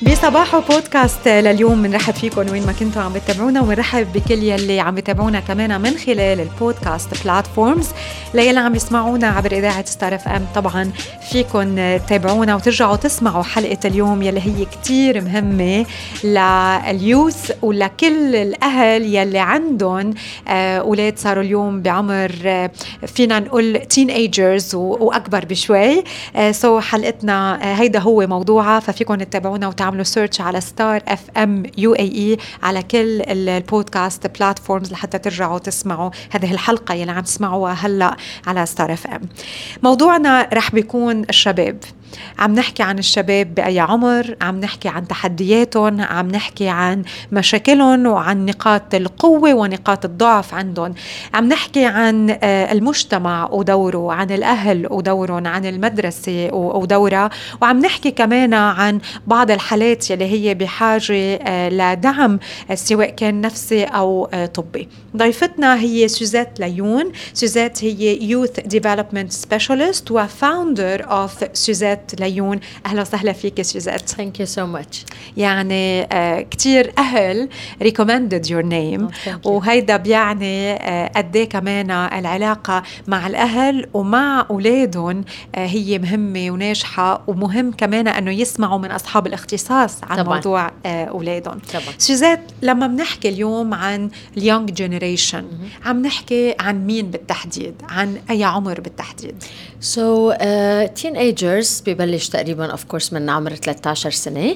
بصباحو بودكاست لليوم بنرحب فيكم وين ما كنتوا عم بتابعونا، ونرحب بكل يلي عم بتابعونا كمان من خلال البودكاست بلاتفورمز. ليلي عم يسمعونا عبر إذاعة ستار اف ام، طبعا فيكم تتابعونا وترجعوا تسمعوا حلقة اليوم يلي هي كتير مهمة لليوث ولكل الأهل يلي عندهم أولاد صاروا اليوم بعمر فينا نقول teenagers وأكبر بشوي. سو حلقتنا هيدا هو موضوعها، ففيكم تتابعونا وتعملوا سيرش على ستار اف ام UAE على كل البودكاست بلاتفورمز لحتى ترجعوا تسمعوا هذه الحلقة يلي عم تسمعوها هلأ على ستار اف ام. موضوعنا رح بيكون الشباب. عم نحكي عن الشباب بأي عمر، عم نحكي عن تحدياتهم، عم نحكي عن مشاكلهم وعن نقاط القوة ونقاط الضعف عندهم، عم نحكي عن المجتمع ودوره، عن الأهل ودورهم، عن المدرسة ودورها، وعم نحكي كمان عن بعض الحالات يلي هي بحاجة لدعم سواء كان نفسي أو طبي. ضيفتنا هي سوزات ليون. سوزات هي Youth Development Specialist وفاوندر of سوزات ليون. أهلا وسهلا فيك سوزات. Thank you so much. يعني كتير أهل recommended your name وهيدا بيعني قديه كمان العلاقة مع الأهل ومع أولادهم هي مهمة وناجحة، ومهم كمان أنه يسمعوا من أصحاب الاختصاص عن طبعاً. موضوع أولادهم. سوزات، لما بنحكي اليوم عن اليونج جينيريشن عم نحكي عن مين بالتحديد؟ عن أي عمر بالتحديد؟ So teenagers ببلش تقريبا of course من عمر 13 سنة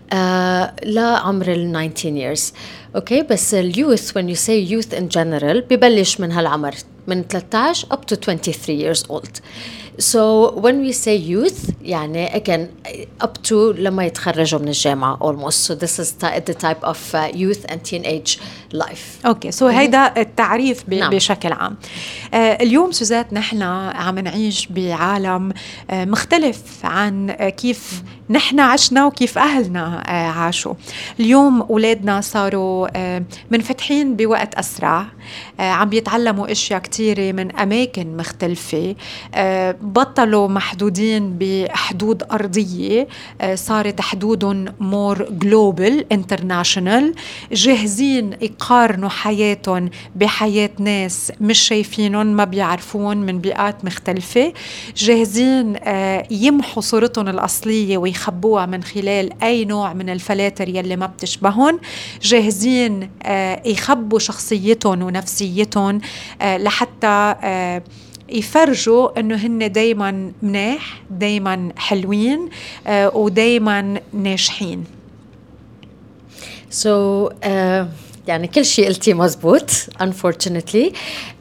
لعمر 19 years. Okay, بس youth when you say youth in general ببلش من هالعمر من 13 up to 23 years old. So when we say youth يعني again up to لما يتخرجوا من الجامعة almost. So this is the type of youth and teenage life. Okay, so هيدا التعريف بشكل عام. اليوم سوزات نحن عم نعيش بعالم مختلف عن كيف نحن عشنا وكيف أهلنا عاشوا. اليوم أولادنا صاروا منفتحين بوقت أسرع، عم بيتعلموا أشياء كتيرة من أماكن مختلفة، بطلوا محدودين بحدود أرضية، صارت حدودهم more global international، جاهزين يقارنوا حياتهم بحياة ناس مش شايفينهم ما بيعرفون من بيئات مختلفة، جاهزين يمحوا صورتهم الأصلية ويخبوها من خلال أي نوع من الفلاتر يلي ما بتشبهن، جاهزين يخبوا شخصيتهم ونفسيتهم لحتى يفرجوا انه هن دايما مناح، دايما حلوين ودايما ناجحين. So يعني كل شيء قلتي مزبوط unfortunately.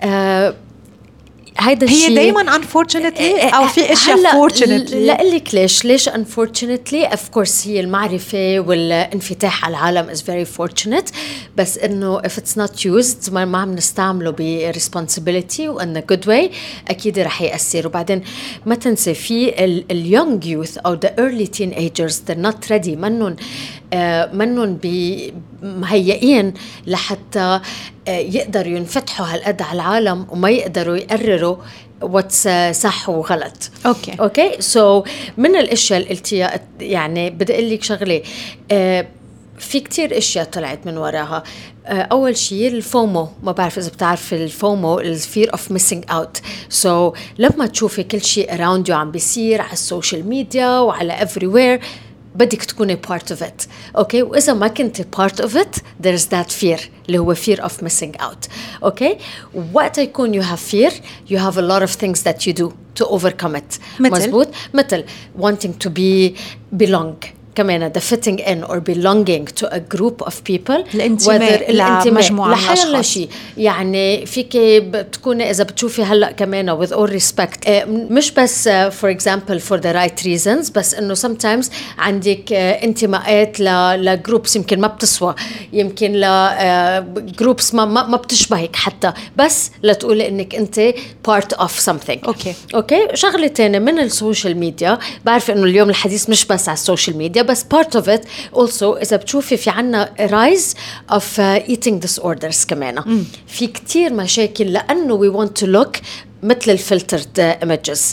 هيدا هي دايما unfortunately أو في أشياء fortunately؟ لا أقلك ليش unfortunately of course هي المعرفة والانفتاح على العالم is very fortunate، بس إنه if it's not used ما عم نستعمله ب responsibility وإن good way أكيد رح يأثر. وبعدين ما تنسي في young youth أو the early teenagers they're not ready، منن مهيئين لحتى يقدروا ينفتحوا هالقد على العالم وما يقدروا يقرروا what's صح وغلط. اوكي so من الاشياء اللي قلتيها يعني بدي اقول لك شغله، في كتير اشياء طلعت من وراها. اول شيء الفومو، ما بعرف اذا بتعرف الفومو الفير اوف ميسينج اوت. سو لما تشوفي كل شيء around you عم بيصير على السوشيال ميديا وعلى everywhere بدك تكوني part of it. okay, وإذا ما كنتي part of it there is that fear اللي هو fear of missing out. okay, وقت يكون you have fear you have a lot of things that you do to overcome it. مزبوط، مثل wanting to belong كمان the fitting in or belonging to a group of people، الانتماء لمجموعة من الأشخاص. يعني فيك بتكوني إذا بتشوفي هلأ كمان with all respect مش بس for example for the right reasons، بس إنه sometimes عندك انتماءات لجروبس يمكن ما بتسوى، يمكن لجروبس ما بتشبهك حتى، بس لتقولي إنك أنت part of something. أوكي شغلة تانية من السوشيال ميديا، بعرف إنه اليوم الحديث مش بس على السوشيال ميديا بس part of it also إذا بتشوفي في عنا rise of eating disorders كمان. في كتير مشاكل لأنه we want to look مثل الفلترد images.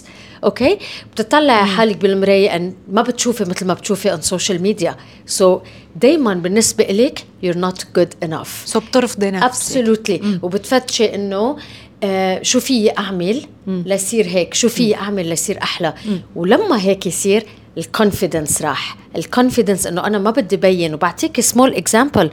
اوكي بتطلع حالك بالمرايه ان ما بتشوفي مثل ما بتشوفي on social media. so دايما بالنسبه لك you're not good enough. so بترفضي نفسك. absolutely. وبتفتشي انه شو في اعمل ليصير هيك، شو في اعمل ليصير احلى. ولما هيك يصير الكونفيدنس راح، الكونفيدنس انه انا ما بدي بين. وبعطيك سمول اكزامبل.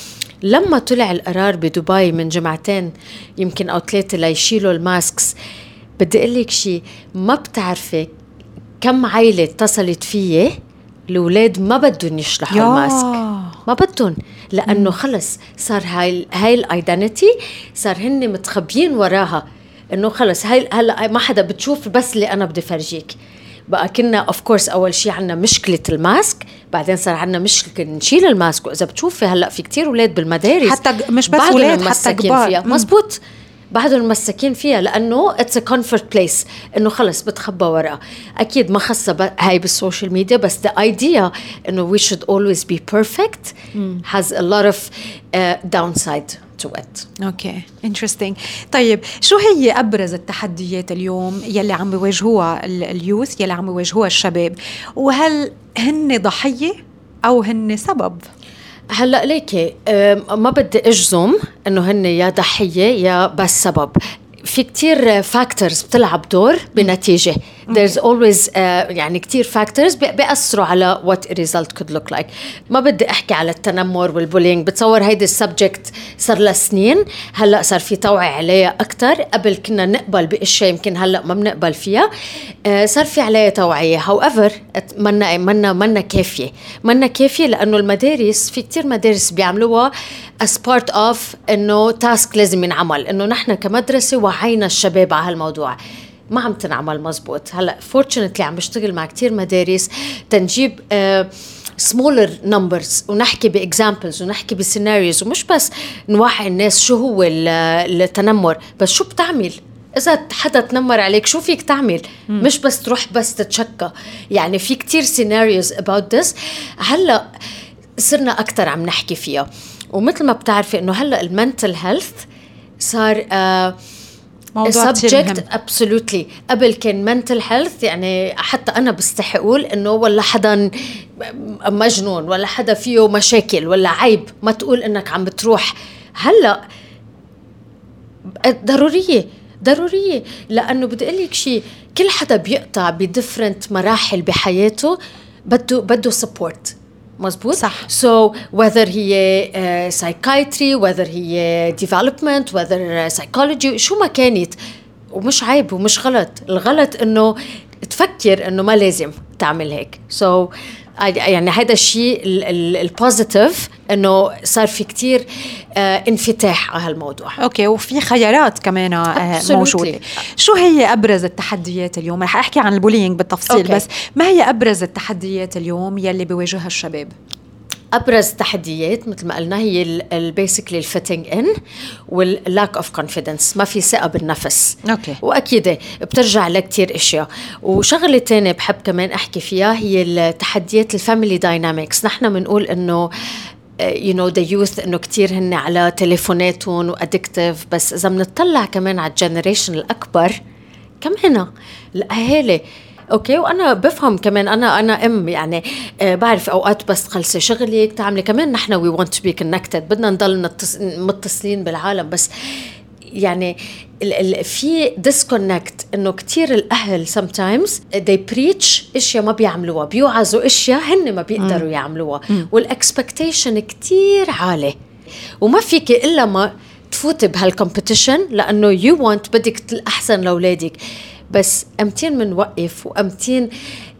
لما طلع القرار بدبي من جمعتين يمكن أو 3 ليشيلوا الماسكس، بدي أقول لك شيء، ما بتعرفي كم عائلة اتصلت فيي الأولاد ما بدهم يشلحوا الماسك، ما بدهم، لأنه خلص صار هاي الايدنتي، صار هن متخبيين وراها إنه خلص هاي هلا ما حدا بتشوف بس اللي أنا بدي فرجيك. بقى كنا اوف كورس اول شيء عنا مشكله الماسك، بعدين صار عنا مشكله نشيل الماسك. واذا بتشوفي هلا في كتير اولاد بالمدارس حتى مش بس اولاد حتى كبار مزبوط بعدهم مساكين فيها، لانه اتس ا كومفورت بليس، انه خلص بتخبى وراء. اكيد ما خاصه هاي بالسوشيال ميديا، بس the idea انه we should always be perfect has a lot of downside to it. اوكي interesting. طيب شو هي ابرز التحديات اليوم يلي عم بيواجهوها اليوث، يلي عم بيواجهوها الشباب، وهل هن ضحيه او هن سبب؟ هلأ ليكي ما بدي أجزم إنه هن يا ضحية يا بس سبب. في كتير فاكتورز بتلعب دور بنتيجة. there's always يعني كتير فاكتورز بيأثروا على what a result could look like. ما بدي أحكي على التنمر والبولينج، بتصور هيدي السبجكت صار لها سنين، هلأ صار في توعية عليها أكتر. قبل كنا نقبل بأشياء يمكن هلأ ما بنقبل فيها، صار في عليها توعية. however منا كافية لأنه المدارس في كتير مدارس بيعملوها as part of إنه تاسك لازم ينعمل، إنه نحن كمدرسة وعينا الشباب على هالموضوع. ما عم تنعمل مزبوط. هلأ fortunately عم بشتغل مع كتير مدارس تنجيب smaller numbers ونحكي بexamples ونحكي بسيناريوز، ومش بس نوعي الناس شو هو التنمر، بس شو بتعمل إذا حدا تنمر عليك، شو فيك تعمل. مش بس تروح بس تتشكى. يعني في كتير scenarios about this. هلأ صرنا أكتر عم نحكي فيها. ومثل ما بتعرفي إنه هلأ المنتل هيلث صار subject absolutely. قبل كان mental health يعني حتى أنا بستحي أقول إنه ولا حدا مجنون ولا حدا فيه مشاكل ولا عيب ما تقول إنك عم بتروح. هلأ ضرورية لأنه بدي أقولك شيء، كل حدا بيقطع بديفرنت مراحل بحياته بده support. مزبوط صح. so whether هي psychiatry whether هي development whether psychology شو ما كانت، ومش عيب ومش غلط. الغلط انه تفكر انه ما لازم تعمل هيك. so يعني هذا الشيء البوزيتيف انه صار في كتير انفتاح على هالموضوع. اوكي وفي خيارات كمان موجوده. شو هي ابرز التحديات اليوم؟ رح احكي عن البولينج بالتفصيل أوكي. بس ما هي ابرز التحديات اليوم يلي بيواجهها الشباب؟ أبرز تحديات مثل ما قلنا هي البيسيكلي الفيتنج إن واللاك أوف كونفيدنس، ما في ثقة بالنفس. أوكي. وأكيد بترجع لكتير إشياء. وشغلة تانية بحب كمان أحكي فيها هي التحديات الفاميلي دايناميكس. نحن بنقول إنه you know the youth إنه كتير هن على تليفوناتهم وأدكتيف، بس إذا بنطلع كمان على الجنريشن الأكبر كمان الأهالي. اوكي وانا بفهم كمان، انا ام يعني بعرف اوقات بس خلصي شغلك تعملي كمان نحن we want to be connected، بدنا نضل متصلين بالعالم، بس يعني في disconnect انه كتير الاهل sometimes they preach اشياء ما بيعملوها، بيوعظوا اشياء هن ما بيقدروا يعملوها، والاكسبكتيشن كتير عالي، وما فيك الا ما تفوتي بهالكومبيتيشن لانه you want بدك الاحسن لاولادك. بس أمتين منوقف وأمتين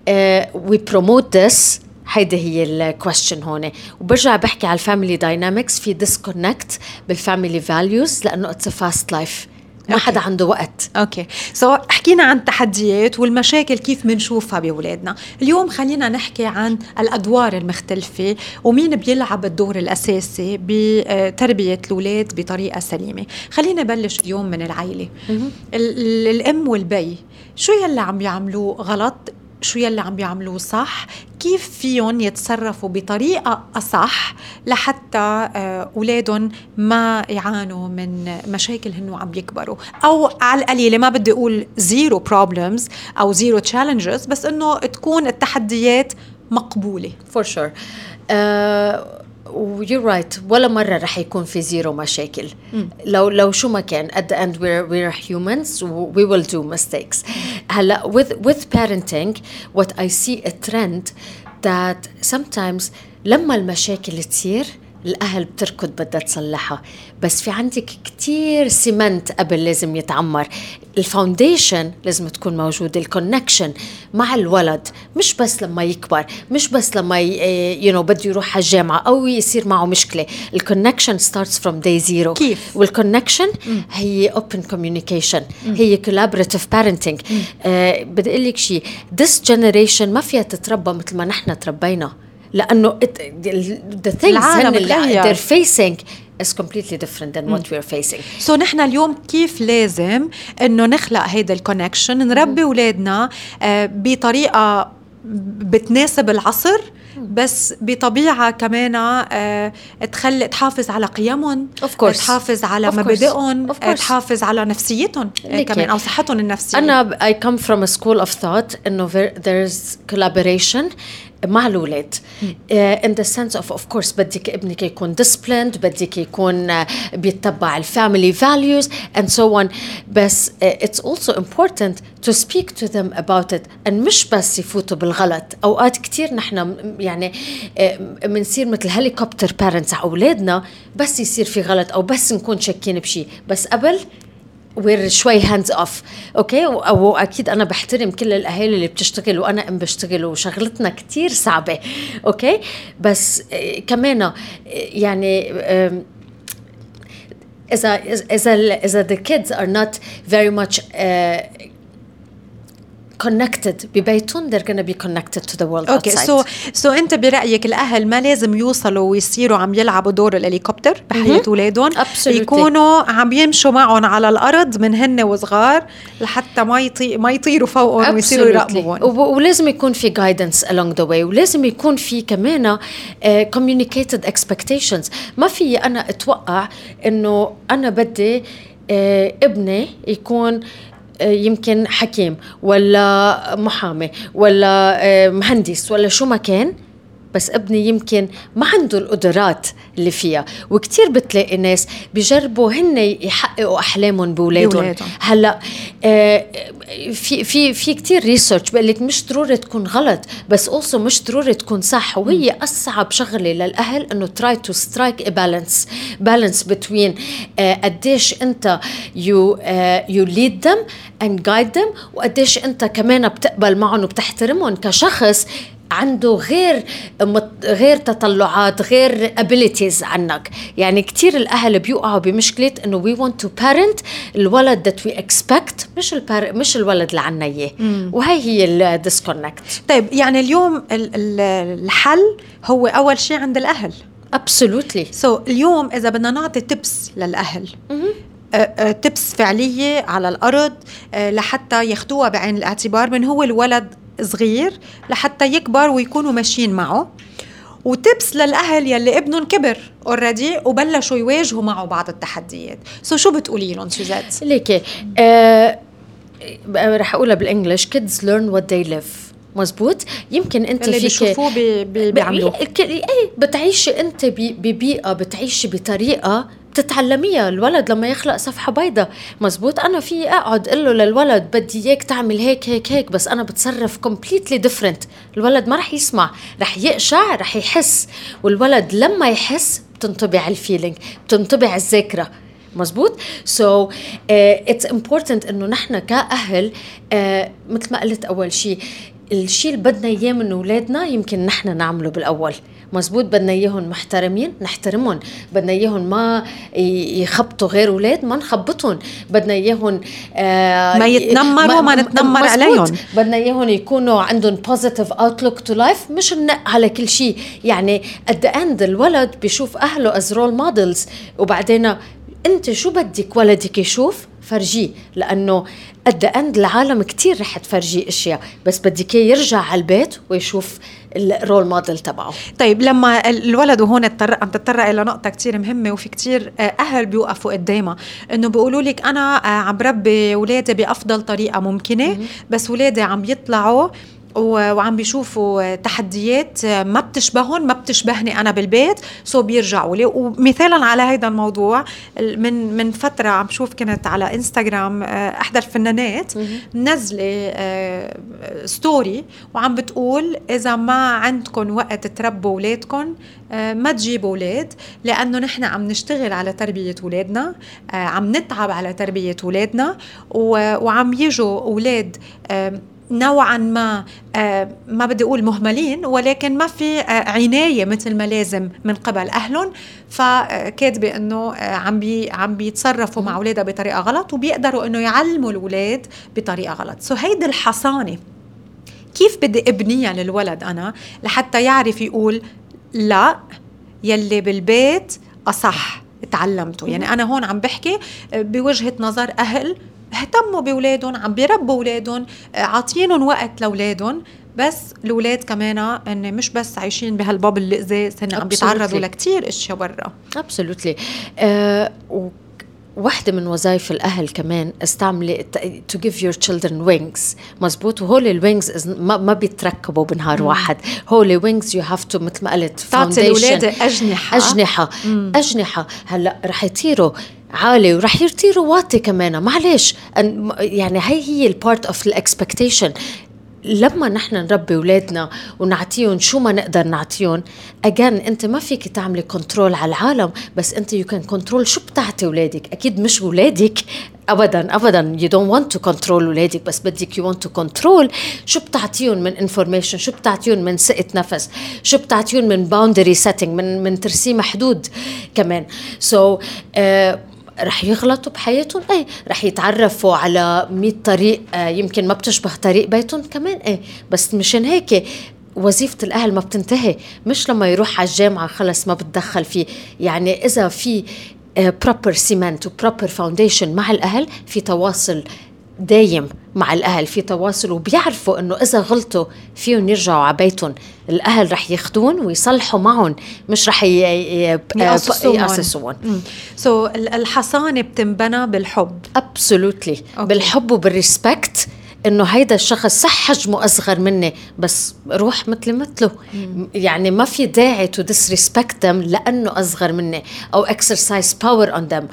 we promote this. هيدا هي الكويستشن هون. وبرجع بحكي على الفاميلي داينامكس، في disconnect بالفاميلي values لأنه it's a fast life، ما حدا عنده وقت. اوكي حكينا عن التحديات والمشاكل كيف منشوفها بأولادنا. اليوم خلينا نحكي عن الأدوار المختلفة ومين بيلعب الدور الأساسي بتربية الأولاد بطريقة سليمة. خلينا نبلش اليوم من العائلة. الأم والبي شو يلي عم يعملوه غلط شو يلي عم بيعملوه صح، كيف فيهم يتصرفوا بطريقة أصح لحتى أولادهم ما يعانوا من مشاكل هنو عم بيكبروا، أو على القليلة ما بدي أقول zero problems أو zero challenges، بس إنه تكون التحديات مقبولة. For sure. You're right. ولا مرة رح يكون في زيرو مشاكل. لو شو ما كان at the end we're humans, we will do mistakes. هلا with parenting what I see a trend that sometimes لما المشاكل تصير الأهل بتركض بدها تصلحها، بس في عندك كتير سيمنت قبل لازم يتعمر. الفاونديشن لازم تكون موجودة، الكونكشن مع الولد، مش بس لما يكبر، مش بس لما بده يروح على الجامعة أو يصير معه مشكلة. الكونكشن starts from day zero. كيف؟ والكونكشن هي open communication، هي collaborative parenting. بدي أقول لك شيء، this generation ما فيها تتربى مثل ما نحن تربينا، لأنه the things اللي they're facing is completely different than what we're facing. So نحن اليوم كيف لازم إنه نخلق هيدا الكونكشن، نربي أولادنا بطريقة بتناسب العصر، بس بطبيعة كمان تحافظ على قيمهم، تحافظ على مبادئهم، تحافظ على نفسيتهم كمان أو صحتهم النفسية. أنا I come from a school of thought إنه there's collaboration مع الأولاد in the sense of course بدك ابنك يكون disciplined، بدك يكون بيتبع family values and so on، بس it's also important to speak to them about it، and مش بس يفوتوا بالغلط. أوقات كتير نحن يعني منصير مثل helicopter parents على أولادنا، بس يصير في غلط أو بس نكون شاكين بشي، بس قبل we're شوي hands off. أوكي، وأكيد أنا بحترم كل الأهالي اللي بتشتغل وأنا بشتغل وشغلتنا كتير صعبة. أوكي، بس كمان يعني إذا the kids are not very much connected ببيتهم they're going to be connected to the world outside. So أنت برأيك الأهل ما لازم يوصلوا ويصيروا عم يلعبوا دور الهليكوبتر بحياة أولادهم، يكونوا عم يمشوا معهم على الأرض من هن وصغار لحتى ما يطيروا فوقهم ويصيروا يراقبوهم. ولازم يكون في guidance along the way، ولازم يكون في كمان communicated expectations. ما في أنا أتوقع إنه أنا بدي ابني يكون يمكن حكيم ولا محامي ولا مهندس ولا شو ما كان، بس ابني يمكن ما عنده القدرات اللي فيها. وكتير بتلاقي ناس بيجربوا هن يحققوا أحلامهم بولادهم. هلأ في كتير ريسيرش بقولك مش ضروري تكون غلط، بس also مش ضروري تكون صح. وهي أصعب شغلة للأهل إنه try to strike a balance between قديش أنت you lead them and guide them، وقديش أنت كمان بتقبل معهم وبتحترمهم كشخص عنده غير تطلعات، غير abilities عنك. يعني كتير الأهل بيوقعوا بمشكلة إنه we want to parent الولد that we expect، مش الولد اللي عنا إياه، وهي هي disconnect. طيب يعني اليوم الحل هو أول شيء عند الأهل. Absolutely. So اليوم إذا بدنا نعطي tips للأهل، tips فعلية على الأرض لحتى ياخدوها بعين الاعتبار من هو الولد صغير لحتى يكبر ويكونوا ماشيين معه، وتبس للأهل يلي ابنهم كبر already وبلشوا يواجهوا معه بعض التحديات. شو بتقولي لهم سوزات؟ ليكي رح أقولها بالإنجليش kids learn what they live. مزبوط. يمكن أنت اللي بيشوفوه بيعملوه. بتعيشي أنت ببيئة، بتعيشي بطريقة بتتعلميها. الولد لما يخلق صفحة بيضة، مزبوط، أنا في أقعد قله للولد بدي إياك تعمل هيك هيك هيك، بس أنا بتصرف completely different. الولد ما رح يسمع، رح يقشع، رح يحس. والولد لما يحس بتنطبع الفيلينج، بتنطبع الذاكرة. مزبوط. So it's important إنه نحن كأهل مثل ما قلت أول شيء، الشيء اللي بدنا إياه من أولادنا يمكن نحن نعمله بالأول. مزبوط. بدنا إياهم محترمين نحترمهم، بدنا إياهم ما يخبطوا غير أولاد ما نخبطهم، بدنا إياهم ما يتنمروا ما نتنمر عليهم، بدنا إياهم يكونوا عندهم positive outlook to life، مش ننق على كل شيء. يعني at the end الولد بيشوف أهله as role models، وبعدين أنت شو بدك ولدك يشوف فرجيه، لأنه قد أند العالم كتير رح تفرجي أشياء، بس بدك يرجع على البيت ويشوف الرول موديل تبعه. طيب لما الولد وهون عم تتطرق إلى نقطة كتير مهمة، وفي كتير أهل بيوقفوا قدامها إنه بيقولوا لك أنا عم بربي ولادي بأفضل طريقة ممكنة، بس ولادي عم يطلعوا وعم بيشوفوا تحديات ما بتشبههم، ما بتشبهني أنا بالبيت، سو بيرجعوا لي. ومثالا على هيدا الموضوع، من فترة عم شوف كانت على إنستغرام أحدى الفنانات نزلة ستوري وعم بتقول إذا ما عندكم وقت تربوا ولادكم ما تجيبوا ولاد، لأنه نحن عم نشتغل على تربية ولادنا، عم نتعب على تربية ولادنا، وعم يجوا ولاد نوعا ما بدي أقول مهملين، ولكن ما في عناية مثل ما لازم من قبل أهلهم، فكاتبة أنه عم بيتصرفوا مع أولادها بطريقة غلط، وبيقدروا أنه يعلموا الولاد بطريقة غلط. سو هيدي الحصانة كيف بدي ابنيها للولد أنا لحتى يعرف يقول لا، يلي بالبيت أصح تعلمته. يعني أنا هون عم بحكي بوجهة نظر أهل اهتموا بولادهم، عم بيربوا ولادهم، عاطينهم وقت لولادهم، بس الولاد كمان ان مش بس عايشين بهالبابل اللي إزاز، عم بيتعرضوا لكتير اشياء برا. Absolutely. واحدة من وظائف الأهل كمان استعملي to give your children wings. مزبوط. وهول الوينجز ما بيتركبوا بنهار واحد، هول wings you have to مثل ما قلت تعطي الولاد أجنحة. هلأ رح يطيروا عالي ورح يطيروا واطي كمان، معلش يعني هي البارت اوف الاكسبكتيشن. لما نحن نربي ولادنا ونعطيهم شو ما نقدر نعطيهم، أجان أنت ما فيك تعملي كنترول على العالم، بس أنت you can control شو بتعطي ولادك. أكيد مش ولادك أبدا you don't want to control ولادك، بس بدك you want to control شو بتعطيهم من information، شو بتعطيهم من سقة نفس، شو بتعطيهم من boundary setting، من ترسيم حدود كمان. so رح يغلطوا بحياتهم، رح يتعرفوا على 100 طريق يمكن ما بتشبه طريق بيتهم كمان، بس مشان هيك وظيفة الأهل ما بتنتهي. مش لما يروح على الجامعة خلص ما بتدخل فيه. يعني إذا في proper cement و proper foundation مع الأهل، في تواصل دايم مع الأهل، في تواصل، وبيعرفوا أنه إذا غلطوا فيهم يرجعوا على بيتهم، الأهل رح ياخدون ويصلحوا معهم، مش رح يأسسون. الحصانة بتنبنى بالحب. Absolutely. بالحب وبالريسبكت، إنه هيدا الشخص صح حجمه أصغر مني، بس روح مثله. يعني ما في داعي to disrespect them لأنه أصغر مني أو exercise power on them.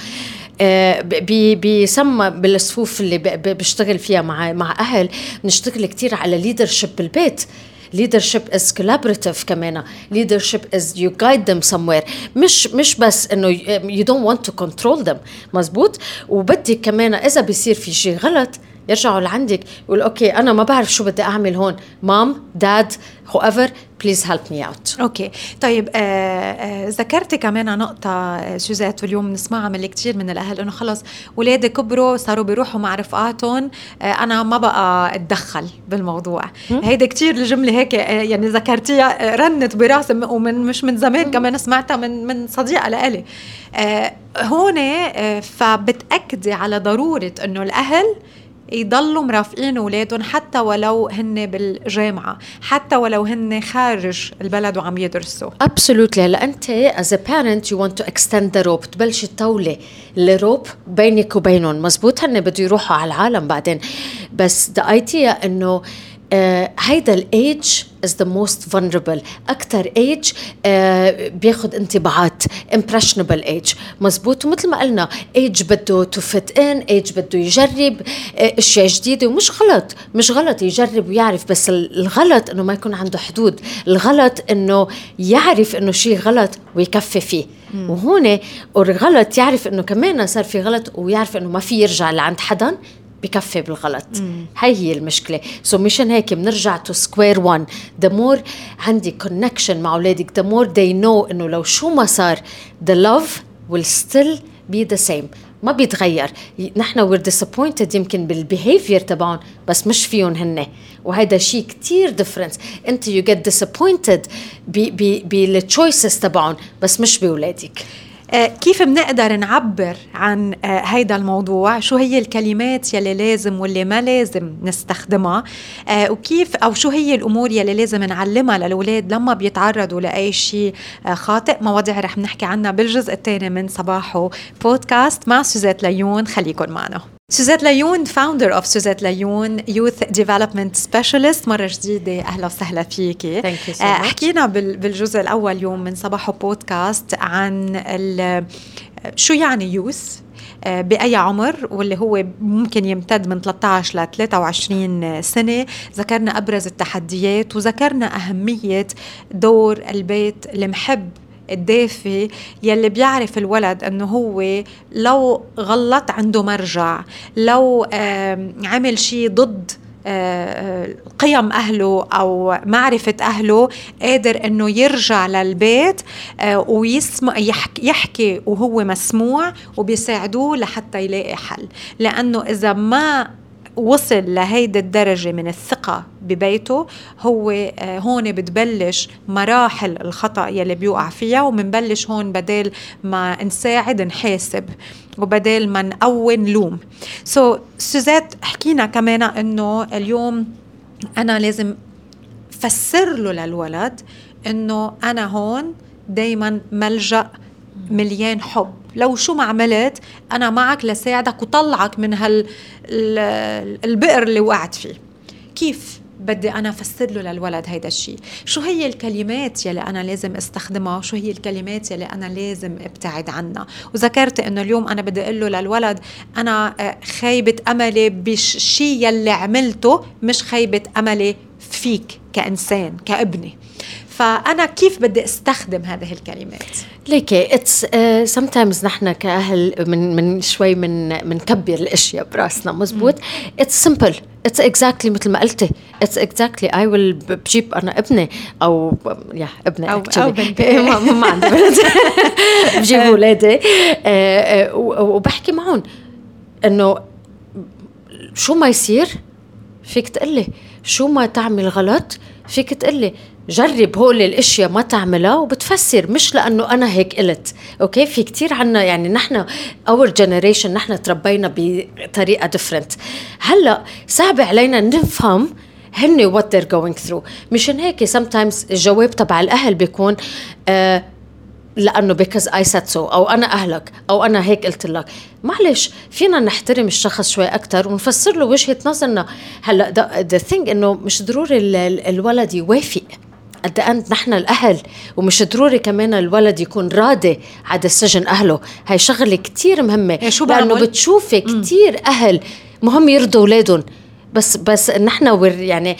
بيسمى بالصفوف اللي بشتغل فيها مع أهل، نشتغل كتير على leadership بالبيت. leadership is collaborative كمان. leadership is you guide them somewhere. مش بس إنه you don't want to control them. مزبوط. وبدي كمان إذا بيصير في شيء غلط يرجعوا لعندك يقول أوكي أنا ما بعرف شو بدي أعمل هون، مام داد whoever please help me out. أوكي طيب ذكرتي كمان نقطة سوزات واليوم نسمعها من كتير من الأهل، إنه خلص ولادي كبروا صاروا بيروحوا مع رفقاتهم، أنا ما بقى أتدخل بالموضوع. هيدا كتير الجملة هيك يعني ذكرتيها رنت براسي، ومن مش من زمان كمان سمعتها من صديقة لإلي هون. فبتأكدي على ضرورة إنه الأهل يضلوا مرافقين أولادهم حتى ولو هن بالجامعة، حتى ولو هن خارج البلد وعم يدرسوا. Absolutely. هلا أنت as a parent you want to extend the rope، تبلش تطولي الروب بينك وبينهم. مزبوط. هن بده يروحوا على العالم بعدين، بس the idea إنه هيدا الage is the most vulnerable. أكتر age بياخد انطباعات impressionable age. مزبوط. ومثل ما قلنا age بده to fit in، age بده يجرب اشياء جديدة، ومش غلط يجرب ويعرف، بس الغلط انه ما يكون عنده حدود. الغلط انه يعرف انه شيء غلط ويكفي فيه. وهون الغلط يعرف انه كمان صار في غلط، ويعرف انه ما في يرجع لعند حدا بكفي بالغلط. هي المشكلة. مشان هيك بنرجع to square one. the more عندي connection مع أولادك، the more they know إنه لو شو ما صار the love will still be the same، ما بيتغير. نحن we're disappointed يمكن بالbehavior تبعون، بس مش فيهم هن، وهذا شيء كتير difference. انت you get disappointed بالchoices تبعون، بس مش بأولادك. كيف بنقدر نعبر عن هيدا الموضوع؟ شو هي الكلمات يلي لازم واللي ما لازم نستخدمها؟ وكيف أو شو هي الأمور يلي لازم نعلمها للأولاد لما بيتعرضوا لأي شيء خاطئ؟ مواضيع رح نحكي عنها بالجزء الثاني من صباحو بودكاست مع سوزات ليون. خليكن معنا. سوزات ليون founder of سوزات ليون Youth Development Specialist. مرة جديدة أهلا وسهلا فيكي. حكينا بالجزء الأول يوم من صباحو بودكاست عن شو يعني يوث بأي عمر، واللي هو ممكن يمتد من 13 ل 23 سنة. ذكرنا أبرز التحديات وذكرنا أهمية دور البيت المحب الدافي يلي بيعرف الولد أنه هو لو غلط عنده مرجع، لو عمل شيء ضد قيم أهله أو معرفة أهله قادر أنه يرجع للبيت ويسمع يحكي وهو مسموع وبيساعدوه لحتى يلاقي حل. لأنه إذا ما وصل لهيدا الدرجة من الثقة ببيته، هو هون بتبلش مراحل الخطأ يلي بيوقع فيها، ومنبلش هون بدل ما نساعد نحاسب وبدل ما نقوّن لوم. سوزات حكينا كمان انه اليوم انا لازم فسر له للولد انه انا هون دايما ملجأ مليان حب، لو شو ما عملت أنا معك لساعدك وطلعك من البئر اللي وقعت فيه. كيف بدي أنا أفسر له للولد هيدا الشيء؟ شو هي الكلمات يلي أنا لازم استخدمها؟ شو هي الكلمات يلي أنا لازم ابتعد عنها؟ وذكرت إنه اليوم أنا بدي أقول له للولد أنا خيبة أملي بالشيء يلي عملته، مش خيبة أملي فيك كإنسان كابني. فأنا كيف بدي استخدم هذه الكلمات؟ ليكي it's sometimes نحن كأهل من شوي من كبر الأشياء براسنا. مزبوط. it's simple. it's exactly مثل ما قلتي. it's exactly I will بجيب أنا ابني أو ابني أو بنتي ما عندي بنت بجيب أولادي وبحكي معهم إنه شو ما يصير فيك تقلي، شو ما تعمل غلط فيك تقلي، جرب هول الاشياء ما تعملها وبتفسر، مش لانه انا هيك قلت. اوكي، في كتير عنا يعني نحن اور جنريشن نحن تربينا بطريقه ديفرنت. هلا صعب علينا نفهم هن what they're going through. مشان هيك sometimes الجواب تبع الاهل بيكون لأنه because I said so أو أنا أهلك أو أنا هيك قلت لك. معلش فينا نحترم الشخص شوي أكتر ونفسر له وجهة نظرنا. هلأ the thing إنه مش ضروري الولد يوافق at the end. نحن الأهل، ومش ضروري كمان الولد يكون راضي على سجن أهله. هاي شغلة كتير مهمة، لأنه بتشوفي كتير أهل مهم يرضوا أولادهم بس نحن يعني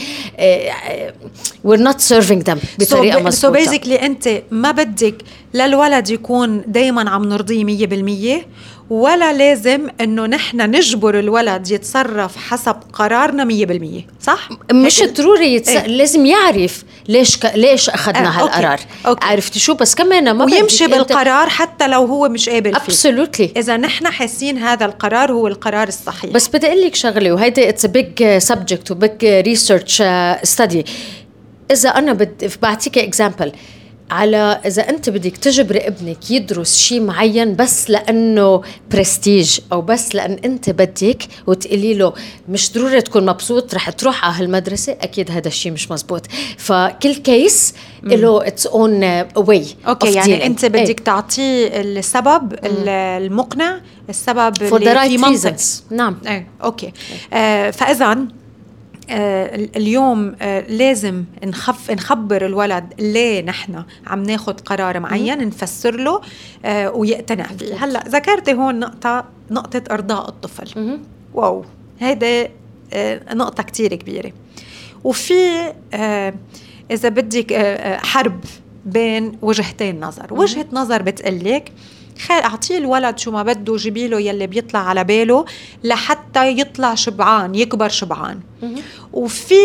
we're not serving them بطريقة مظبوطة. so basically أنت ما بدك للولد يكون دايما عم نرضيه 100%، ولا لازم إنه نحن نجبر الولد يتصرف حسب قرارنا 100%. صح؟ مش ضروري لازم يعرف ليش أخذنا هالقرار. عرفتي شو؟ بس كمان ما ويمشي بالقرار حتى لو هو مش قابل فيه. Absolutely. إذا نحن حاسين هذا القرار هو القرار الصحيح. بس بدي أقول لك شغلة، وهيدا it's a big subject و big research study. إذا أنا بعطيك example على إذا أنت بدك تجبر ابنك يدرس شيء معين بس لأنه برستيج أو بس لأن أنت بدك وتقولي له مش ضروري تكون مبسوط رح تروح على هالمدرسة، أكيد هذا الشيء مش مزبوط. فكل كيس له its own way. أوكي، يعني أنت بدك تعطيه السبب المقنع، السبب for the right reasons. نعم. أوكي. فإذا اليوم لازم نخبر الولد ليه نحن عم ناخد قرار معين، نفسر له ويقتنع فيه. هلأ ذكرتي هون نقطة إرضاء الطفل. واو، هيدا نقطة كتير كبيرة. وفي إذا بدك حرب بين وجهتين نظر. وجهة نظر بتقلك أعطيه الولد شو ما بده، جيبيله يلي بيطلع على باله لحتى يطلع شبعان، يكبر شبعان. وفي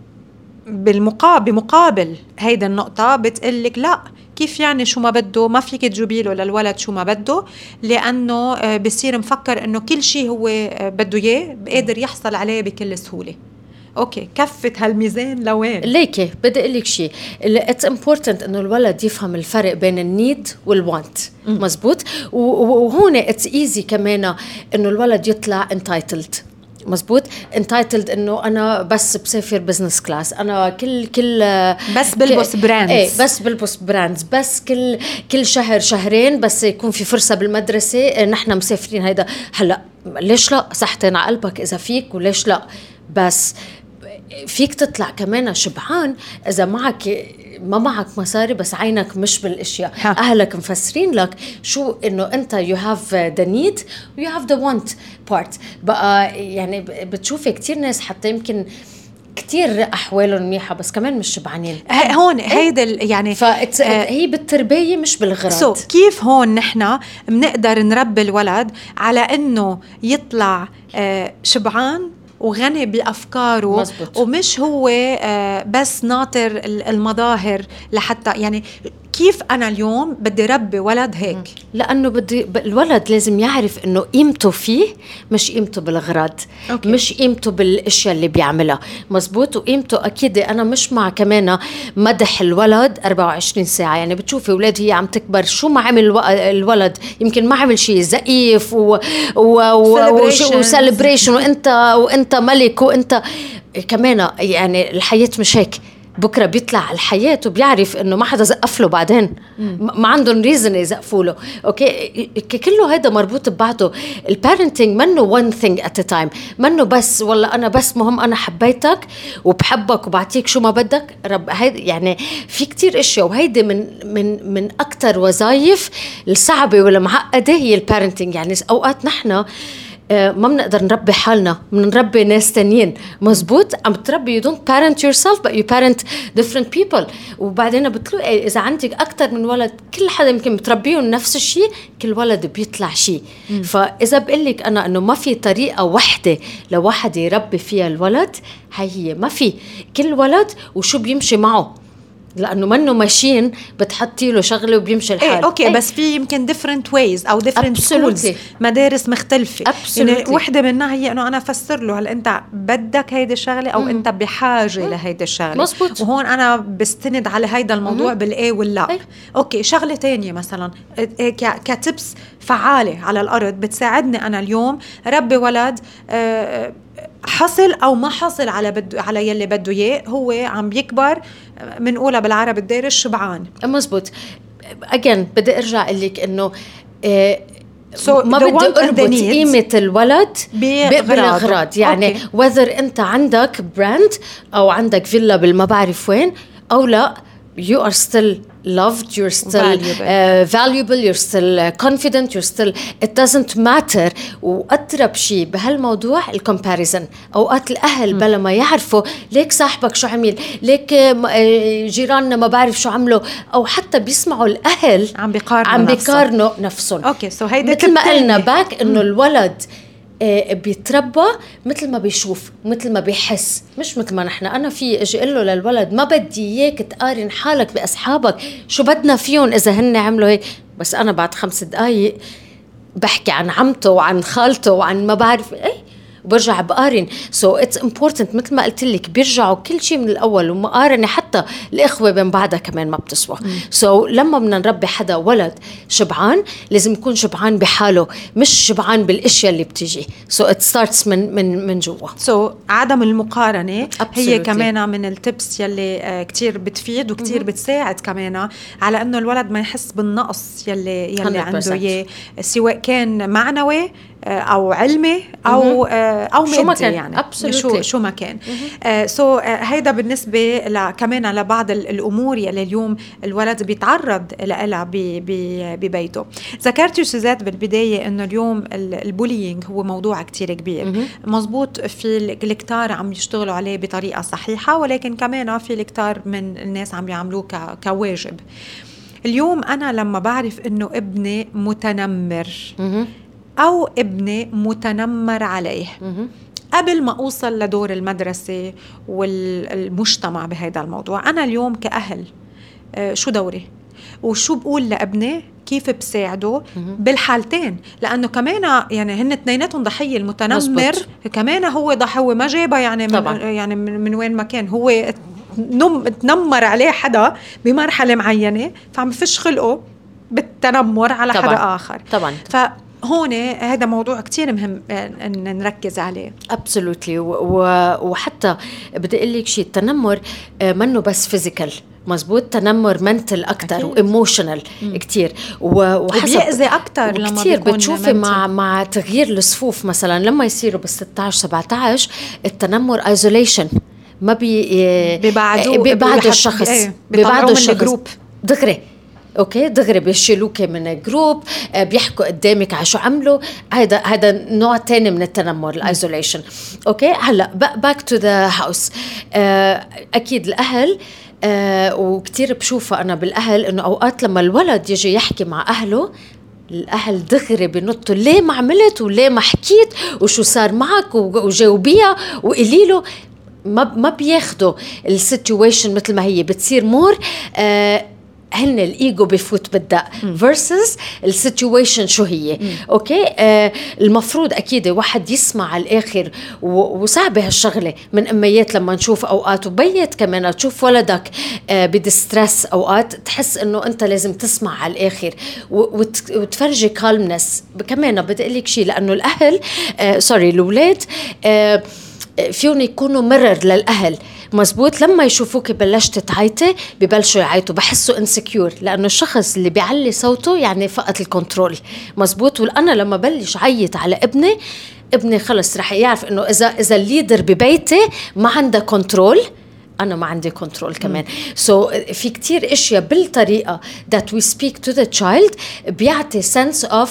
بمقابل هيدا النقطة بتقلك لا، كيف يعني شو ما بده؟ ما فيك تجيبيله للولد شو ما بده، لأنه بصير مفكر أنه كل شيء هو بده إياه قادر يحصل عليه بكل سهولة. اوكي كفة هالميزان لوين؟ ليكي بدي اقول لك شيء، اتس امبورتنت انه الولد يفهم الفرق بين النيد والوانت. مزبوط. وهون اتس ايزي كمان انه الولد يطلع انتايتلد. مزبوط. انتايتلد انه انا بس بسافر بزنس كلاس، انا كل بس بلبس براندز. ايه بس بلبس براندز، بس كل شهر شهرين بس يكون في فرصه بالمدرسه نحن مسافرين. هيدا هلا ليش لا؟ صحتين على قلبك اذا فيك، وليش لا؟ بس فيك تطلع كمان شبعان اذا ما معك مصاري بس عينك مش بالاشياء. اهلك مفسرين لك شو انه انت you have the need و you have the want part. بقى يعني بتشوفي كتير ناس حتى يمكن كتير احوالهم منيحه بس كمان مش شبعانين. هون هيدا يعني هي بالتربيه مش بالغراض. كيف هون نحن بنقدر نربي الولد على انه يطلع شبعان وغني بأفكاره. مزبوط. ومش هو بس ناطر المظاهر لحتى يعني كيف أنا اليوم بدي ربي ولد هيك؟ لأنه الولد لازم يعرف إنه قيمته فيه مش قيمته بالأغراض. أوكي. مش قيمته بالأشياء اللي بيعملها. مزبوط. وقيمته أكيد أنا مش مع كمان مدح الولد 24 ساعة. يعني بتشوفي أولاد هي عم تكبر شو ما عمل الولد، يمكن ما عمل شيء زقيف وسليبريشن وأنت ملك وأنت كمان. يعني الحياة مش هيك. بكرة بيطلع على الحياة وبيعرف إنه ما حدا زقف له بعدين. ما عندهم ريزن يزقفوا له. أوكي كله هذا مربوط ببعضه. البارنتينج منه one thing at a time. منه بس والله أنا بس مهم أنا حبيتك وبحبك وبعطيك شو ما بدك. هيدا يعني في كتير إشياء، وهيدا من أكتر وظائف الصعبة ولا معقدة هي البارنتينج. يعني أوقات نحنا ما بنقدر نربي حالنا، بنربي ناس تانيين. مزبوط. عم تربي you don't parent yourself but you parent different people. وبعدين بتلاقي إذا عندك أكتر من ولد كل حدا يمكن بتربيهم نفس الشيء، كل ولد بيطلع شيء. فإذا بقلك أنا أنه ما في طريقة واحدة لواحد يربي فيها الولد، هي ما في. كل ولد وشو بيمشي معه، لأنه منه ماشين بتحطي له شغله وبيمشي الحال. أوكي. بس في يمكن different ways أو different schools، مدارس مختلفة. يعني وحدة منها هي أنه أنا أفسر له هل أنت بدك هيدا الشغلة أو أنت بحاجة لهيدا الشغلة. مزبوط. وهون أنا بستند على هيدا الموضوع بالإيه واللا. أوكي. شغلة تانية مثلا كتبس فعالة على الأرض بتساعدني أنا اليوم ربي ولد حصل أو ما حصل على يلي بده إياه، هو عم بيكبر منقولها بالعرب الدير الشبعان. مزبوط. again بدي أرجع أقولك إنه ما بدي أربط قيمة الولد بالأغراض. يعني whether أنت عندك براند أو عندك فيلا بالما بعرف وين أو لا، you are still loved, you're still valuable, you're still confident, you're still it doesn't matter. وأقرب شيء بهالموضوع الcomparison. أوقات الأهل بلا ما يعرفوا ليك صاحبك شو عمل، ليك جيراننا ما بعرف شو عملوا، أو حتى بيسمعوا الأهل عم بيقارنوا نفسهم. أوكي. so هيدا مثل ما قلنا باك إنه الولد بيتربى مثل ما بيشوف مثل ما بيحس، مش مثل ما نحن. أنا في أجي أقول له للولد ما بدي إياك تقارن حالك بأصحابك، شو بدنا فيهم إذا هن عملوا هيك. بس أنا بعد 5 دقايق بحكي عن عمته وعن خالته وعن ما بعرف إيه وبرجع بقارن. so it's important مثل ما قلت لك بيرجعوا كل شيء من الأول، ومقارنة حتى الإخوة بين بعضها كمان ما بتسوى. so لما بدنا نربي حدا ولد شبعان لازم يكون شبعان بحاله مش شبعان بالأشياء اللي بتيجي. so it starts من جوا. so عدم المقارنة هي كمان من التبس يلي كتير بتفيد وكتير بتساعد كمان على أنه الولد ما يحس بالنقص يلي عنده إياه، سواء كان معنوي أو علمي أو مادي. يعني شو ما كان. هيدا بالنسبة كمان لبعض الأمور يلي اليوم الولد بيتعرض لها ببيته. ذكرت سوزات بالبداية إنه اليوم البولينج هو موضوع كتير كبير. مزبوط. في الكتار عم يشتغلوا عليه بطريقة صحيحة، ولكن كمان في الكتار من الناس عم يعملوه كواجب. اليوم أنا لما بعرف إنه ابني متنمر أو ابني متنمر عليه قبل ما أوصل لدور المدرسة والمجتمع بهذا الموضوع، أنا اليوم كأهل شو دوري؟ وشو بقول لابني، كيف بساعده بالحالتين، لأنه كمان يعني هن اثنيناتهم ضحية. المتنمر مزبوط. كمان هو ضحية، هو ما جابها يعني من وين ما كان، هو تنمر عليه حدا بمرحلة معينة، فعم يفش خلقه بالتنمر على طبعاً. حدا آخر. طبعا. فهون هذا موضوع كتير مهم أن نركز عليه. absolutely. وحتى بدي أقول لك شيء، التنمر منه بس فيزيكال، مزبوط، تنمر منتل أكتر وإيموشنال كتير، وبيأذي أكتر لما كتير بتشوفي مع تغيير الصفوف مثلا لما يصيروا بال16-17 التنمر isolation، ما بيبعدوا الشخص، بيبعدوا الشخص دغري. اوكي دغري بيشيلوك من الجروب، بيحكوا قدامك على شو عملوا. هذا نوع تاني من التنمر، الايزوليشن. اوكي هلا باك تو ذا هاوس. اكيد الاهل وكتير بشوفها انا بالاهل انه اوقات لما الولد يجي يحكي مع اهله، الاهل دغري بنطوا ليه ما عملت وليه ما حكيت وشو صار معك وجاوبيها وقليله. ما بياخدوا السيتويشن مثل ما هي، بتصير مور هن الإيجو بفوت بالدق versus السيتويشن شو هي. أوكي المفروض أكيد واحد يسمع على الآخر، وصعب هالشغلة من أميات لما نشوف أوقات، وبيت كمان تشوف ولدك بدسترس أوقات، تحس إنه أنت لازم تسمع على الآخر وتفرجي كالمنس. كمان بدي أقول لك شيء، لأنه الأهل الأولاد فيهم يكونوا مرر للأهل، مزبوط. لما يشوفوك بلشت تعيطي ببلشوا يعيطوا، بحسوا انسكيور، لأنه الشخص اللي بيعلي صوته يعني فقط الكنترول، مزبوط. وأنا لما بلش عيط على ابني خلص رح يعرف إنه إذا الليدر ببيتي ما عنده كنترول، أنا ما عندي كنترول كمان. في كتير إشياء بالطريقة that we speak to the child بيعطي sense of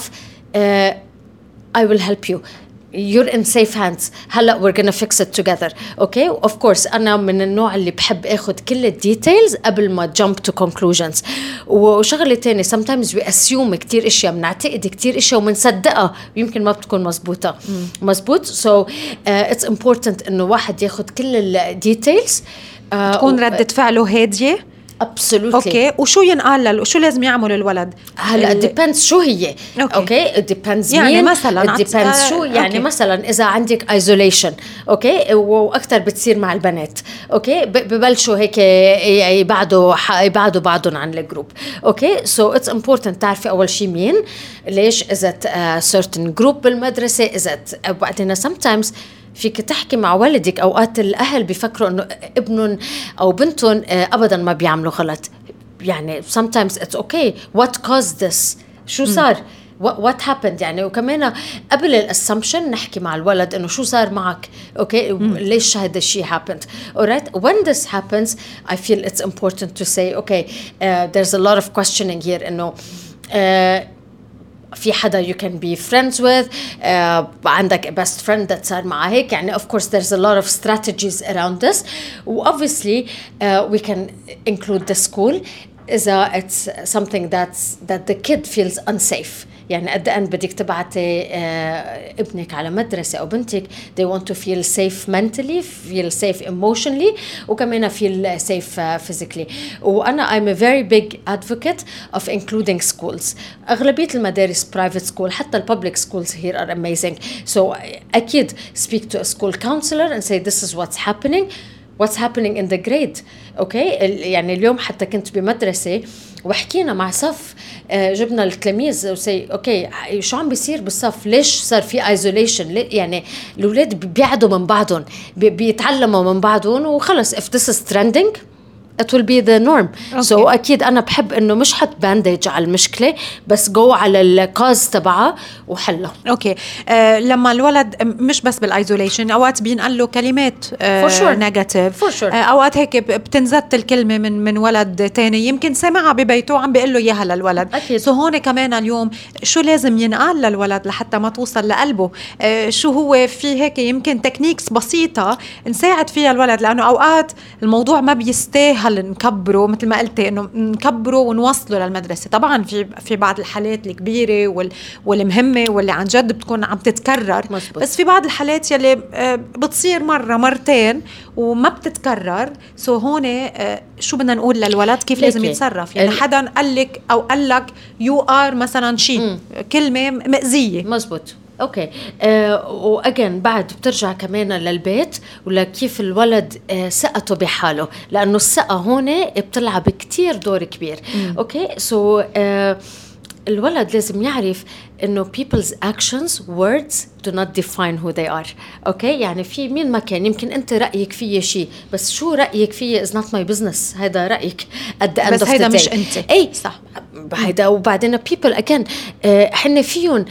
I will help you, you're in safe hands, هلا we're gonna fix it together. okay of course أنا من النوع اللي بحب أخذ كل الديتيلز قبل ما jump to conclusions. وشغلة تاني sometimes we assume كتير إشياء، بنعتقد كتير إشياء ومنصدقها ويمكن ما بتكون مزبوطة. مزبوط. so it's important إنه واحد ياخذ كل الديتيلز، تكون ردة فعله هادية. absolutely. اوكي وشو ينقال وشو لازم يعمل الولد؟ هلا depends شو هي. اوكي depends يعني مثلا depends شو يعني. مثلا اذا عندك isolation اوكي واكثر بتصير مع البنات، اوكي ببلشوا هيك يبعدوا بعضهم عن الجروب. اوكي so it's important تعرفي اول شيء مين، ليش، اذا certain group بالمدرسه، اذا بعدين sometimes فيك تحكي مع والدك. أوقات الأهل بيفكروا إنه ابنهم أو بنتهم أبداً ما بيعملوا غلط، يعني sometimes it's okay what caused this، شو صار، what happened يعني. وكمان قبل الاسامبشن نحكي مع الولد إنه شو صار معك، أوكي ليش هذا الشيء happened. alright when this happens I feel it's important to say okay there's a lot of questioning here إنه في حدا you can be friends with، عندك best friend that صار معه هيك يعني. of course there's a lot of strategies around this. obviously we can include the school إذا it's something that the kid feels unsafe. يعني at the end بدك تبعتي ابنك على مدرسة أو بنتك they want to feel safe mentally, feel safe emotionally، وكمان feel safe physically. وأنا I'm a very big advocate of including schools. أغلبية المدارس private school، حتى public schools here are amazing. so أكيد speak to a school counselor and say this is what's happening in the grade. اوكي يعني اليوم حتى كنت بمدرسة وحكينا مع صف، جبنا التلاميذ وسي اوكي شو عم بيصير بالصف، ليش صار في ايزوليشن، يعني الاولاد بيبعدوا من بعضهم، بيتعلموا من بعضهم، وخلص if this is trending it will be the norm. so أكيد أنا بحب إنه مش حط بانديج على المشكلة، بس جو على الكاز تبعها وحلها. أوكي لما الولد مش بس بالإيزوليشن، أوقات بينقل له كلمات نيجاتيف، أوقات هيك بتنزت الكلمة من ولد تاني يمكن سمعها ببيته عم بيقول له إياها للولد. so هون كمان اليوم شو لازم ينقال للولد لحتى ما توصل لقلبه، شو هو في هيك يمكن تكنيكس بسيطة نساعد فيها الولد، لأنه أوقات الموضوع ما بيستاهل أسهل نكبره مثل ما قلتي إنه نكبره ونوصله للمدرسة. طبعا في بعض الحالات الكبيرة والمهمة واللي عن جد بتكون عم تتكرر. مزبوط. بس في بعض الحالات يلي بتصير مرة مرتين وما بتتكرر. هون شو بدنا نقول للولد كيف لازم يتصرف؟ يعني حدا قال لك أو قال لك you are مثلا شيء كلمة مأذية. مزبوط. اوكي. واجن بعد بترجع كمان للبيت ولكيف الولد ثقته بحاله، لانه الثقه هون بتلعب كتير دور كبير. اوكي. الولد لازم يعرف انه people's actions words do not define who they are. اوكي. يعني في مين ما كان يمكن انت رايك فيه شيء، بس شو رايك فيه is not my business. هذا رايك at the end بس of the day. هيدا مش انت. اي صح. هيدا. وبعدين people again حنا فيهم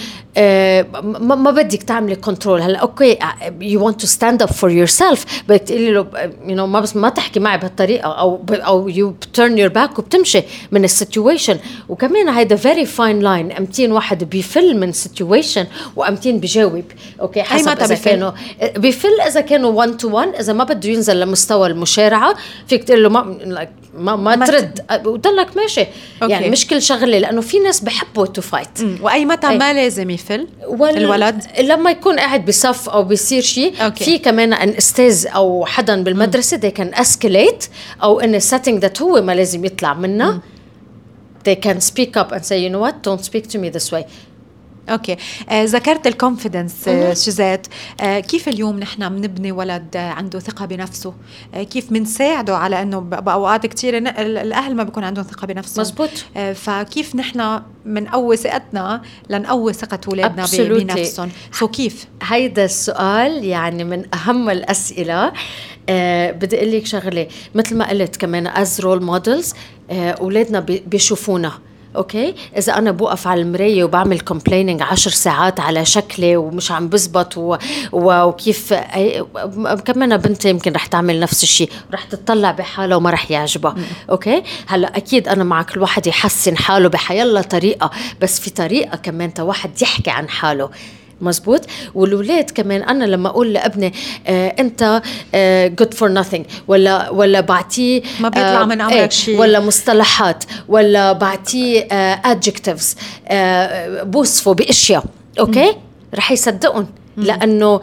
ما بدك تعملي كنترول. هلا اوكي you want to stand up for yourself، بدك تقولي له ما بس ما تحكي معي بهالطريقه او you turn your back وبتمشي من السيتويشن. وكمان هيدا very fine line. امتين واحد بيفل من situation وامتين بيجاوب. اوكي. حسب اذا كانوا بيفل، اذا كانوا 1 to 1. اذا ما بده ينزل لمستوى المشارعه فيك تقول له ما ترد وضلك ماشي. يعني مش كل شغله، لانه في ناس بحبوا تو فايت. واي متى ما لازم يفل الولد لما يكون قاعد بصف او بيصير شيء. في كمان ان استاذ او حدا بالمدرسه they can escalate، او ان setting that هو ما لازم يطلع منها. they can speak up and say you know what don't speak to me this way. اوكي. ذكرت الكونفيدنس شذات. كيف اليوم نحن بنبني ولد عنده ثقة بنفسه؟ كيف بنساعده على انه باوقات كتير الاهل ما بيكون عندهم ثقة بنفسهم. مزبوط. فكيف نحن منقوي ثقتنا لنقوي ثقة اولادنا بنفسهم؟ كيف؟ هيدا السؤال يعني من اهم الاسئلة. بدي اقول لك شغله، مثل ما قلت كمان as role models اولادنا بيشوفونا. اوكي. اذا انا بوقف على المرايه وبعمل كومبليننج 10 ساعات على شكلي ومش عم بزبط وكيف كمان بنتي يمكن رح تعمل نفس الشيء، رح تطلع بحالها وما رح يعجبها. اوكي. هلا اكيد انا معك الواحد يحسن حاله بحيالله طريقه، بس في طريقه كمان واحد يحكي عن حاله. مزبوط. والولاد كمان أنا لما أقول لابني أنت good for nothing ولا بعطيه ما بيطلع من عمرك شيء، ولا مصطلحات، ولا بعطيه adjectives بوصفه بأشياء. أوكي. رح يصدقون لأنه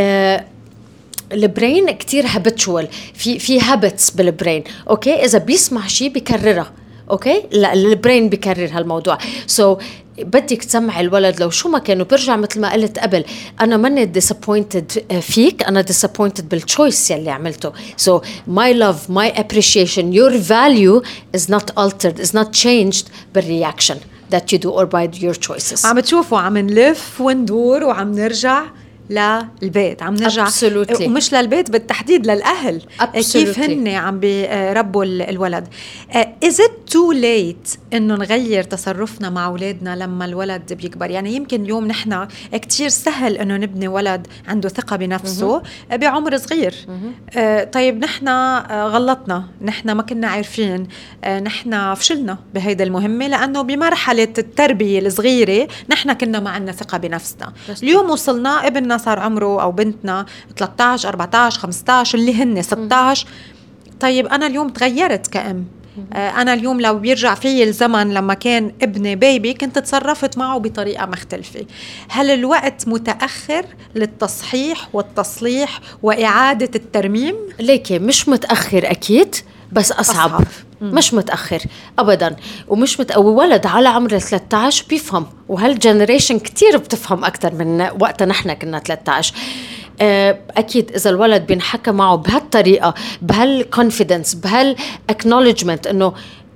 البرين كتير هابتشوال، في هابتس بالبرين. أوكي. إذا بيسمع شيء بيكررها. أوكي. لا البرين بيكرر هالموضوع. بدك تسمع الولد لو شو ما كانوا برجع مثل ما قلت قبل، أنا ماني disappointed فيك، أنا disappointed بالchoice يلي عملته. So my love, my appreciation, your value is not altered, is not changed بالreaction that you do or by your choices. عم تشوفوا عم نلف وندور وعم نرجع للبيت، عم نرجع Absolutely. ومش للبيت بالتحديد للأهل. Absolutely. كيف هن عم بيربوا الولد. is it too late إنه نغير تصرفنا مع أولادنا لما الولد بيكبر؟ يعني يمكن اليوم نحنا كتير سهل إنه نبني ولد عنده ثقة بنفسه بعمر صغير. طيب نحنا غلطنا، نحنا ما كنا عارفين، نحنا فشلنا بهيدا المهمة، لأنه بمرحلة التربية الصغيرة نحنا كنا ما عندنا ثقة بنفسنا. اليوم وصلنا ابننا صار عمره أو بنتنا 13 14 15 اللي هن 16. طيب أنا اليوم تغيرت كأم. أنا اليوم لو بيرجع في الزمن لما كان ابني بيبي كنت تصرفت معه بطريقة مختلفة. هل الوقت متأخر للتصحيح والتصليح وإعادة الترميم؟ ليكي مش متأخر أكيد، بس أصعب. مش متأخر أبداً. ومش ولد على عمر 13 بيفهم، وهالجنريشن كتير بتفهم أكتر من وقت نحن كنا 13. أكيد إذا الولد بينحكى معه بهالطريقة، بهالconfidence، بهالاcknowledgement إنه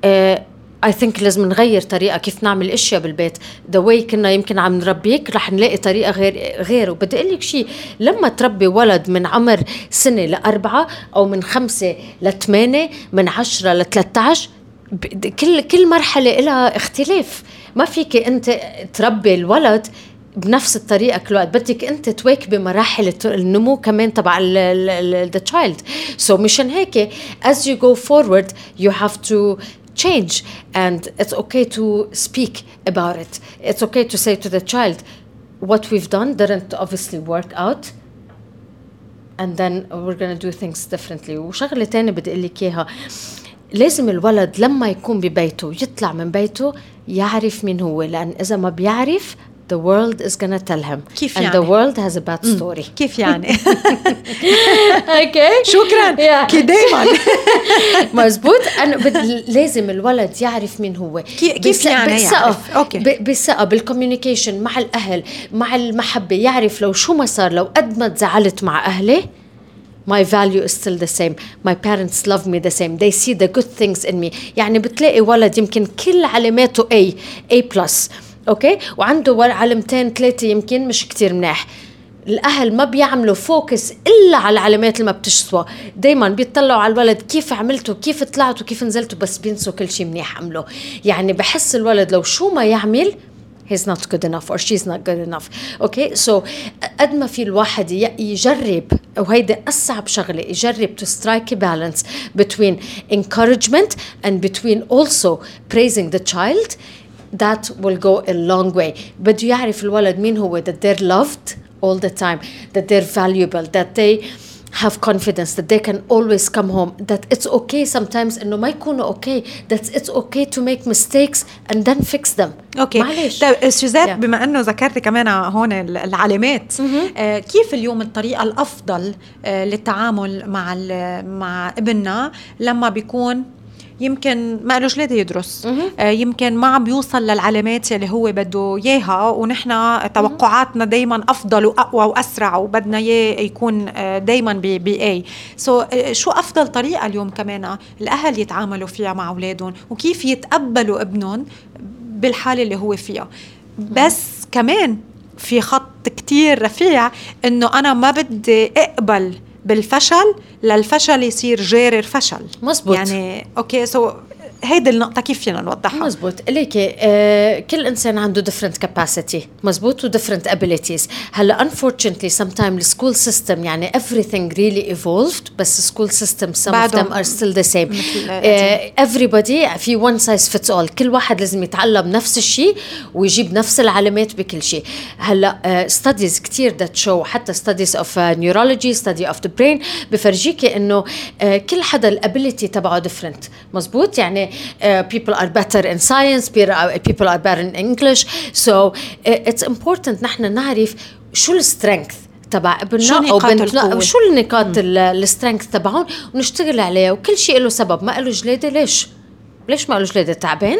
I think لازم نغير طريقة كيف نعمل إشياء بالبيت. the way كنا يمكن عم نربيك رح نلاقي طريقة غير. وبدي أقول لك شيء، لما تربي ولد من عمر 1 ل4 أو من 5 ل8 من 10 ل13، كل مرحلة لها اختلاف. ما فيك أنت تربي الولد بنفس الطريقة كل وقت، بدك أنت تواكبي مراحل النمو كمان تبع the child. so مشان هيك as you go forward you have to change, and it's okay to speak about it. It's okay to say to the child what we've done didn't obviously work out, and then we're going to do things differently. وشغلة تانية بدي أقول لك إياها، لازم الولد لما يكون ببيته يطلع من بيته يعرف مين هو، لأن إذا ما بيعرف the world is gonna tell him. كيف and يعني؟ the world has a bad story. كيف يعني؟ okay. شكرا كي دايما. مزبوط. أنا لازم الولد يعرف مين هو. كيف يعني يعرف؟ بالثقة، بالكوميونيكيشن مع الأهل، مع المحبة، يعرف لو شو ما صار، لو قد ما تزعلت مع أهلي my value is still the same, my parents love me the same, they see the good things in me. يعني بتلاقي ولد يمكن كل علاماته A+, اوكي، وعنده علامتين 3 يمكن مش كتير مناح. الأهل ما بيعملوا فوكس إلا على العلامات اللي ما بتشسوا، دايما بيطلعوا على الولد كيف عملتوا، كيف طلعتوا، كيف نزلتوا، بس بينسوا كل شيء منيح عمله. يعني بحس الولد لو شو ما يعمل he's not good enough or she's not good enough. okay, so قد ما في الواحد يجرب، وهيدا أصعب شغلة، يجرب to strike a balance between encouragement and between also praising the child, that will go a long way. بده يعرف الولد مين هو, that they're loved all the time, that they're valuable, that they have confidence, that they can always come home, that it's okay sometimes إنه ما يكونوا okay, that it's okay to make mistakes and then fix them. اوكي. طيب سوزات، بما انه ذكرت كمان هون العلامات، كيف اليوم الطريقه الافضل للتعامل مع ابننا لما بيكون يمكن ما قالوش ليه يدرس، يمكن ما عم بيوصل للعلامات اللي هو بده اياها، ونحن توقعاتنا دايما افضل واقوى واسرع، وبدنا اياه يكون دايما باي. شو افضل طريقه اليوم كمان الاهل يتعاملوا فيها مع اولادهم، وكيف يتقبلوا ابنهم بالحاله اللي هو فيها؟ بس كمان في خط كتير رفيع انه انا ما بدي اقبل بالفشل للفشل يصير جارر فشل. مزبوط. يعني اوكي، هيدي النقطة كيف فينا نوضحها؟ مزبوط. ليكي كل إنسان عنده different capacity، مزبوط، و different abilities. هلا unfortunately sometimes the school system يعني everything really evolved، بس school system some of them are still the same. Everybody في one size fits all، كل واحد لازم يتعلم نفس الشيء ويجيب نفس العلامات بكل شيء. هلا studies كتير that show، حتى studies of neurology، study of the brain، بفرجيكي إنه كل حدا الability تبعه different. مزبوط. يعني people are better in science, people are better in English, so it's important نحن نعرف شو السترينث تبع ابننا أو بنتنا، وشو النقاط السترينث تبعهم، ونشتغل عليها. وكل شيء له سبب. ما قالوا جليدة ليش ما قالوا جليدة تعبان،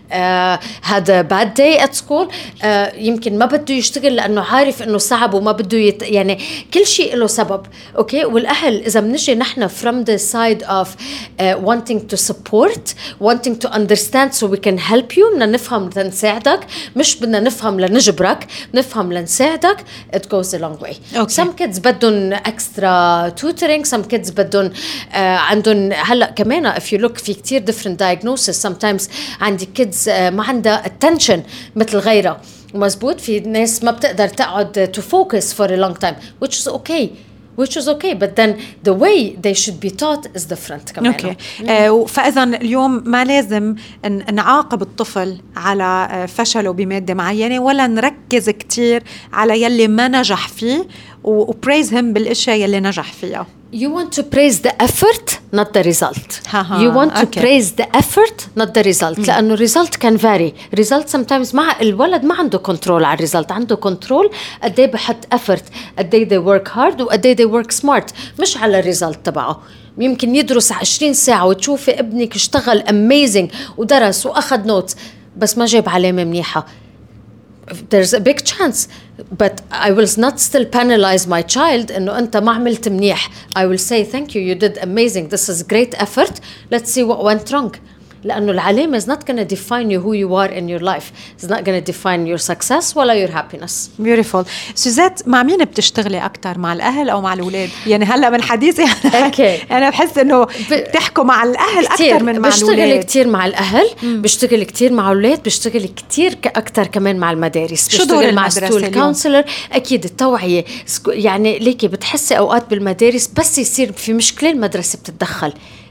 هذا bad day at school، يمكن ما بده يشتغل لأنه عارف إنه صعب وما بده يعني كل شيء له سبب. أوكي. والأهل إذا بنجي نحن from the side of wanting to support, wanting to understand so we can help you، بدنا نفهم لنساعدك، مش بدنا نفهم لنجبرك، نفهم لنساعدك. it goes a long way. okay. some kids بدهم extra tutoring, some kids بدهم عندهم هلأ كمان if you look في كتير different diagnosis. sometimes عندي kids ما عندها attention مثل غيرها. مزبوط. في ناس ما بتقدر تقعد to focus for a long time, which is okay, but then the way they should be taught is different كمان. اوكي. فاذا اليوم ما لازم نعاقب الطفل على فشله بماده معينه، ولا نركز كتير على يلي ما نجح فيه وpraise him بالاشياء يلي نجح فيها. You want to praise the effort, not the result. You want to praise the effort, not the result. لأنه result can vary. Result sometimes مع الولد ما عنده control على result، عنده control قد ايه بحط effort، قد ايه they work hard، وقد ايه they work smart، مش على result تبعه. يمكن يدرس 20 ساعة وتشوفي ابنك اشتغل amazing ودرس وأخذ notes، بس ما جاب علامة منيحة. There's a big chance, but I will not still penalize my child إنه أنت ما عملت منيح. I will say thank you, you did amazing, this is great effort, let's see what went wrong. لأنه العلامة is not going to define you who you are in your life. It's not going to define your success ولا your happiness. Beautiful. سوزات، مع مين بتشتغلي أكتر، مع الأهل أو مع الأولاد؟ يعني هلأ من حديثي أنا بحس إنه بتحكوا مع الأهل أكتر من مع الأولاد. بشتغل كتير مع الأهل، بشتغل كتير مع الأولاد، بشتغل كتير أكتر كمان مع المدارس. شو دور مع ستول كونسلر. أكيد التوعية. يعني ليكي بتحسي أوقات بالمدارس بس يصير في مشكلة المدرسة بتتدخل.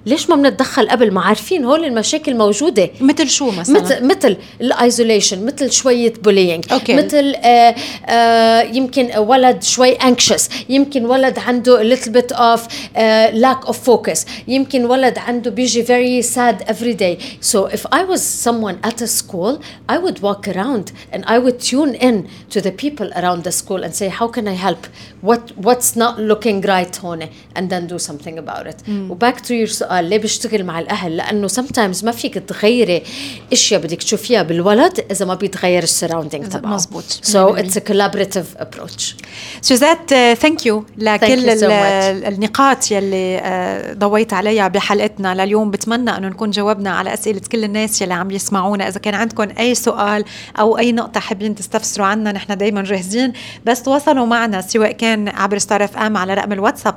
ليش ما بنتدخل قبل ما عارفين هول المشاكل موجودة؟ مثل شو مثلا؟ مثل الايزوليشن، مثل شوية بولينج، مثل يمكن ولد شوي anxious، يمكن ولد عنده a little bit of lack of focus، يمكن ولد عنده بيجي very sad every day. So if I was someone at a school, I would walk around and I would tune in to the people around the school and say how can I help, what's not looking right هون, and then do something about it. وback to your سؤال ليه بيشتغل مع الأهل؟ لأنه sometimes ما فيك تغيري إشياء بدك تشوفيها بالولد إذا ما بيتغير السراوندينج تبعه. مزبوط. So it's a collaborative approach. سوزات thank you لكل النقاط يلي ضويت عليها بحلقتنا لليوم. بتمنى أنه نكون جاوبنا على أسئلة كل الناس يلي عم يسمعونا. إذا كان عندكم أي سؤال أو أي نقطة حابين تستفسروا عنا نحن دايما جاهزين، بس تواصلوا معنا سواء كان عبر ستار اف ام على رقم الواتساب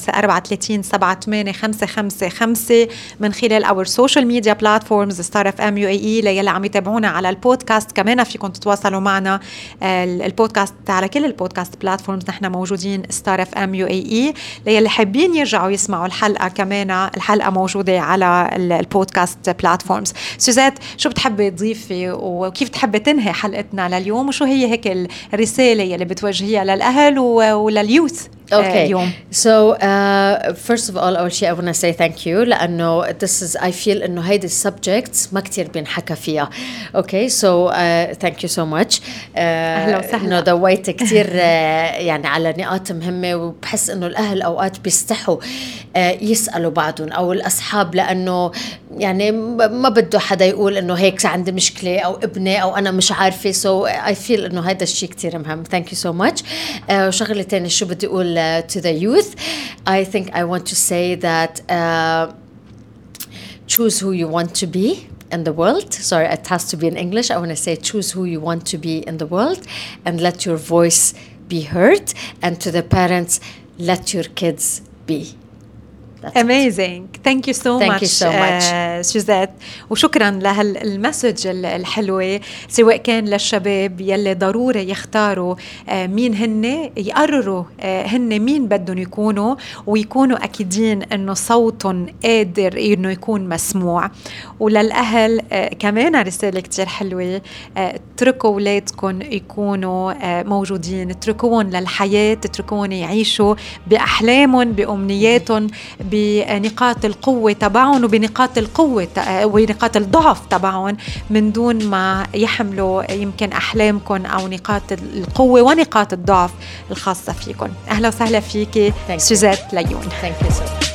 0543378555 من خلال اور سوشيال ميديا بلاتفورمز ستار اف ام UAE. ليلي عم يتابعونا على البودكاست كمان فيكم تتواصلوا معنا البودكاست على كل البودكاست بلاتفورمز، نحن موجودين ستار اف ام UAE. ليلي حابين يرجعوا يسمعوا الحلقة كمان الحلقة موجودة على البودكاست بلاتفورمز. سوزات شو بتحبي تضيفي وكيف تحبي تنهي حلقتنا لليوم، وشو هي هيك الرسالة يلي بتوجهيها للأهل ولليوث اليوم؟ So first of all أول شيء I want to say thank you لأنه this is I feel إنه هيدي subjects ما كتير بينحكى فيها. Okay so thank you so much. أهلا وسهلا. إنه ضويت كتير يعني على نقاط مهمة، وبحس إنه الأهل أوقات بيستحوا يسألوا بعضهم أو الأصحاب لأنه يعني ما بده حدا يقول إنه هيك عندي مشكلة أو ابني أو أنا مش عارفة. so I feel إنه هيدا الشيء كتير مهم. thank you so much. وشغلة تاني شو بدي أقول to the youth, I think I want to say that choose who you want to be in the world. Sorry, it has to be in English. I want to say choose who you want to be in the world and let your voice be heard. And to the parents, let your kids be. Amazing. Thank you so Thank much. you so much. سوزات، وشكرا لهالمسج الحلوة سواء كان للشباب يلي ضروري يختاروا مين هن، يقرروا هن مين بدهم يكونوا ويكونوا أكيدين أنه صوتهم قادر أنه يكون مسموع. وللأهل كمان رسالة كتير حلوة، اتركوا أولادكم يكونوا موجودين، اتركوهم للحياة، اتركوهم يعيشوا بأحلامهم بأمنياتهم بنقاط القوة تبعهم وبنقاط القوة ونقاط الضعف تبعهم من دون ما يحملوا يمكن أحلامكم أو نقاط القوة ونقاط الضعف الخاصة فيكم. أهلا وسهلا فيكي سوزات ليون. Thank you so much.